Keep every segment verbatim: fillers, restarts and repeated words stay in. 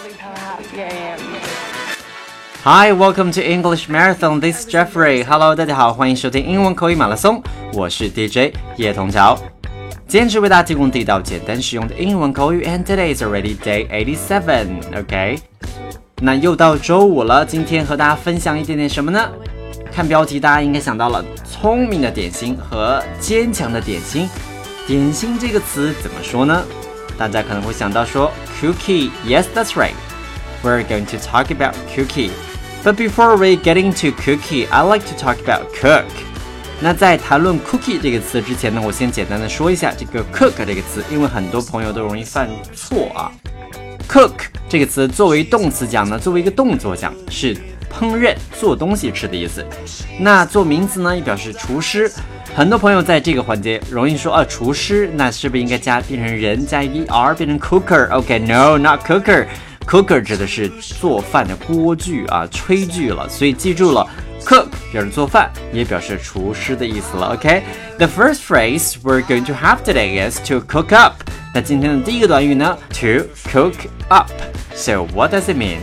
Yeah, yeah, yeah. Hi, welcome to English Marathon. This is Jeffrey. Hello, 大家好，欢迎收听英文口语马拉松。我是 D J 叶童桥。今天是为大家提供地道、简单、实用的英文口语 ，and today is already day eighty-seven. OK， 那又到周五了，今天和大家分享一点点什么呢？看标题，大家应该想到了聪明的点心和坚强的点心。点心这个词怎么说呢？大家可能会想到说 cookie. Yes, that's right. We're going to talk about cookie. But before we get into cookie, I like to talk about cook. 那在谈论 cookie 这个词之前呢，我先简单的说一下这个 cook 这个词，因为很多朋友都容易犯错啊。cook 这个词作为动词讲呢，作为一个动作讲是烹饪、做东西吃的意思。那做名词呢，也表示厨师。很多朋友在这个环节容易说啊，厨师，那是不是应该加变成人加一个 er 变成 cooker？OK， no, not cooker。Cooker 指的是做饭的锅具啊，炊具了，所以记住了 ，cook 表示做饭，也表示厨师的意思了。OK，the first phrase we're going to have today is to cook up。那今天的第一个短语呢 ，to cook up。So what does it mean？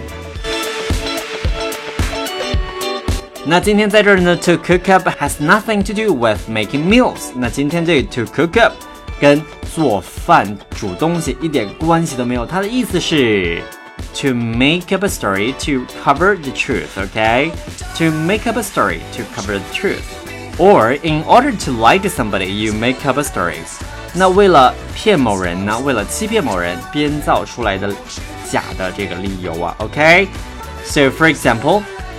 那今天在这儿呢 ，to cook up has nothing to do with making meals。那今天这个 to cook up 跟做饭、煮东西一点关系都没有，它的意思是。To make up a story to cover the truth, okay? To make up a story to cover the truth. Or, in order to lie to somebody, you make up a story. 那为了骗某人呢，为了欺骗某人，编造出来的假的这个理由啊 ，okay? So, for example,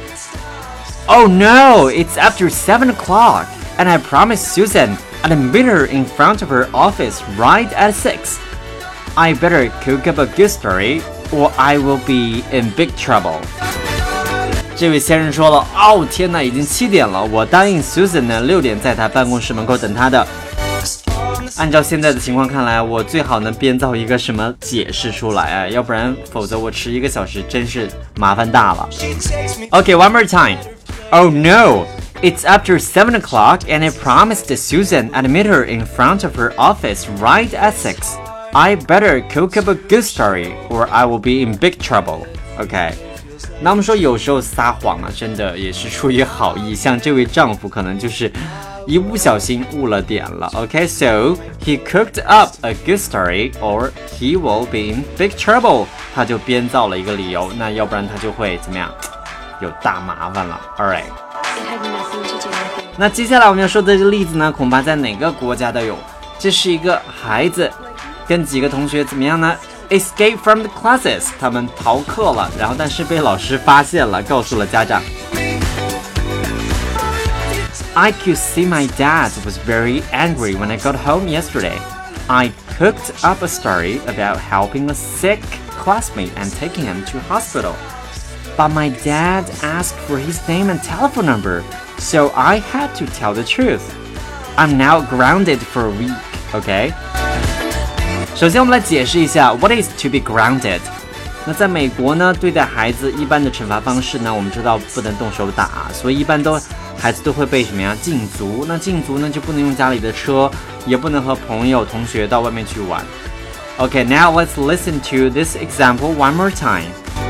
Oh no, it's after seven o'clock, and I promised Susan I'd meet her in front of her office right at six. I better cook up a good story.Or I will be in big trouble. 这位先生说了，哦天哪，已经七点了，我答应 Susan 呢，六点在她办公室门口等她的。按照现在的情况看来，我最好能编造一个什么解释出来啊，要不然否则我迟一个小时真是麻烦大了。Okay, one more time. Oh no, it's after seven o'clock, and I promised Susan I'd meet her in front of her office right at six.I better cook up a good story, or I will be in big trouble. OK， 那我们说有时候撒谎啊，真的也是出于好意，像这位丈夫可能就是一不小心误了点了。OK， so he cooked up a good story, or he will be in big trouble. 他就编造了一个理由，那要不然他就会怎么样？有大麻烦了。All right。那接下来我们要说的这个例子呢，恐怕在哪个国家都有。这是一个孩子。跟几个同学怎么样呢 ？Escape from the classes， 他们逃课了，然后但是被老师发现了，告诉了家长。I could see my dad was very angry when I got home yesterday. I cooked up a story about helping a sick classmate and taking him to hospital. But my dad asked for his name and telephone number, so I had to tell the truth. I'm now grounded for a week, okay?首先我们来解释一下 What is to be grounded。 那在美国呢，对待孩子一般的惩罚方式呢，我们知道不能动手打，所以一般都孩子都会被什么呀禁足。那禁足呢就不能用家里的车，也不能和朋友同学到外面去玩。 Okay, now let's listen to this example one more time.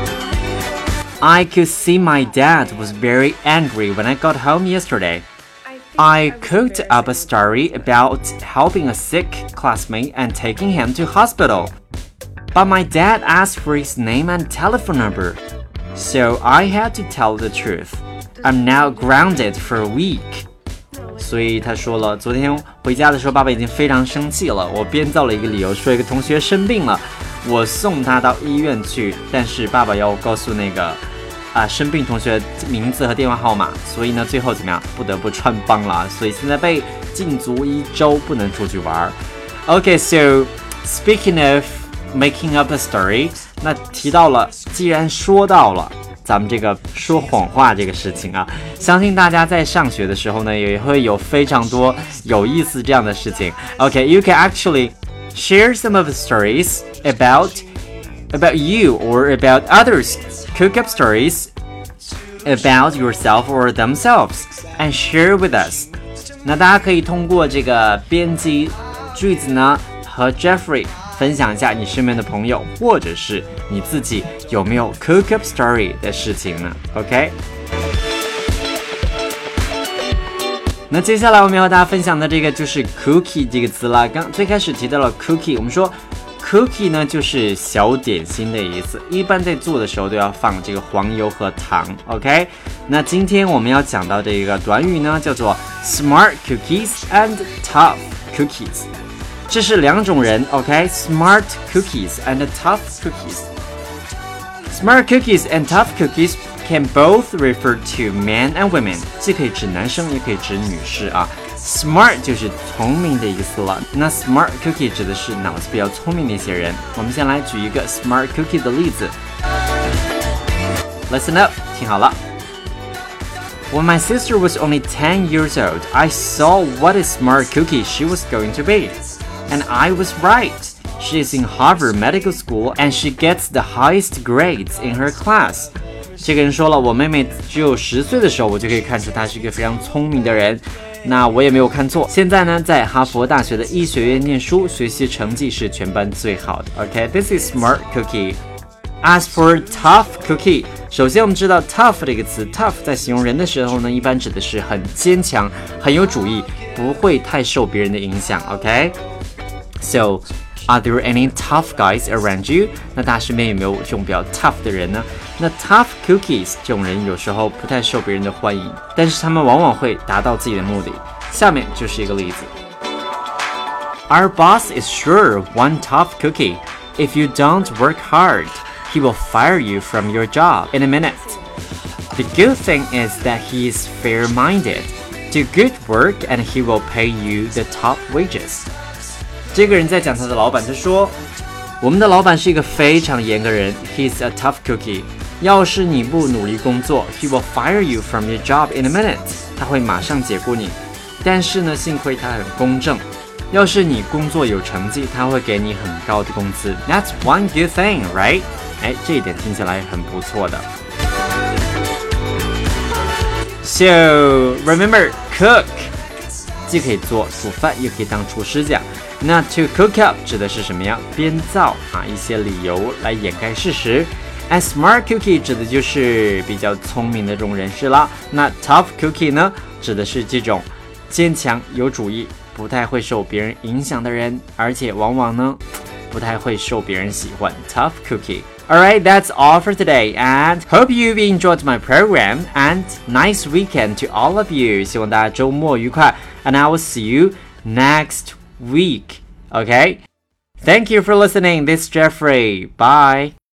I could see my dad was very angry when I got home yesterday.I cooked up a story about helping a sick classmate and taking him to hospital. But my dad asked for his name and telephone number, so I had to tell the truth. I'm now grounded for a week. 所以他说了，昨天回家的时候，爸爸已经非常生气了。我编造了一个理由，说一个同学生病了，我送他到医院去，但是爸爸要我告诉那个啊，生病同学名字和电话号码，所以呢，最后怎么样，不得不穿帮了，所以现在被禁足一周，不能出去玩。Okay, so speaking of making up a story， 那提到了，既然说到了咱们这个说谎话这个事情啊，相信大家在上学的时候呢，也会有非常多有意思这样的事情。Okay, you can actually share some of the stories about about you or about others.Cook up stories about yourself or themselves and share with us. 那大家可以通过这个编辑句子呢，和 Jeffrey 分享一下你身边的朋友或者是你自己有没有 cook up story 的事情呢 OK， 那接下来我们要和大家分享的这个就是 cookie 这个词啦。刚最开始提到了 cookie， 我们说cookie 呢就是小点心的意思，一般在做的时候都要放这个黄油和糖 OK， 那今天我们要讲到这个短语呢叫做 smart cookies and tough cookies， 这是两种人 OK， smart cookies and tough cookies。 Smart cookies and tough cookies can both refer to men and women， 既可以指男生也可以指女士啊。Smart 就是聪明的意思了，那 Smart Cookie 指的是脑子比较聪明的一些人。我们先来举一个 Smart Cookie 的例子。Listen up， 听好了。When my sister was only ten years old, I saw what a smart cookie she was going to be. And I was right. She is in Harvard Medical School and she gets the highest grades in her class. 这个人说了，我妹妹只有十岁的时候，我就可以看出她是一个非常聪明的人。那我也没有看错，现在呢，在哈佛大学的医学院念书，学习成绩是全班最好的。OK， this is smart cookie. As for tough cookie， 首先我们知道 tough 这个词 ，tough 在形容人的时候呢，一般指的是很坚强、很有主意，不会太受别人的影响。OK，so are there any tough guys around you？ 那大家身边有没有这种比较 tough 的人呢？那 tough cookies 这种人有时候不太受别人的欢迎，但是他们往往会达到自己的目的。下面就是一个例子 ：Our boss is sure one tough cookie. If you don't work hard, he will fire you from your job in a minute. The good thing is that he is fair-minded. Do good work, and he will pay you the top wages. 这个人在讲他的老板，他说：“我们的老板是一个非常严格的人 ，He's a tough cookie. 要是你不努力工作 ，He will fire you from your job in a minute. 他会马上解雇你。但是呢，幸亏他很公正。要是你工作有成绩，他会给你很高的工资。That's one good thing, right？ 哎，这一点听起来很不错的。So remember, cook， 既可以做煮饭，也可以当厨师讲。那 to cook up 指的是什么呀？编造啊一些理由来掩盖事实。And smart cookie 指的就是比较聪明的这种人士啦。那 tough cookie 呢，指的是这种坚强有主意，不太会受别人影响的人，而且往往呢不太会受别人喜欢。Tough cookie. Alright, that's all for today, and hope you've enjoyed my program, and nice weekend to all of you. 希望大家周末愉快 and I will see you next week. Okay? Thank you for listening. This is Jeffrey. Bye.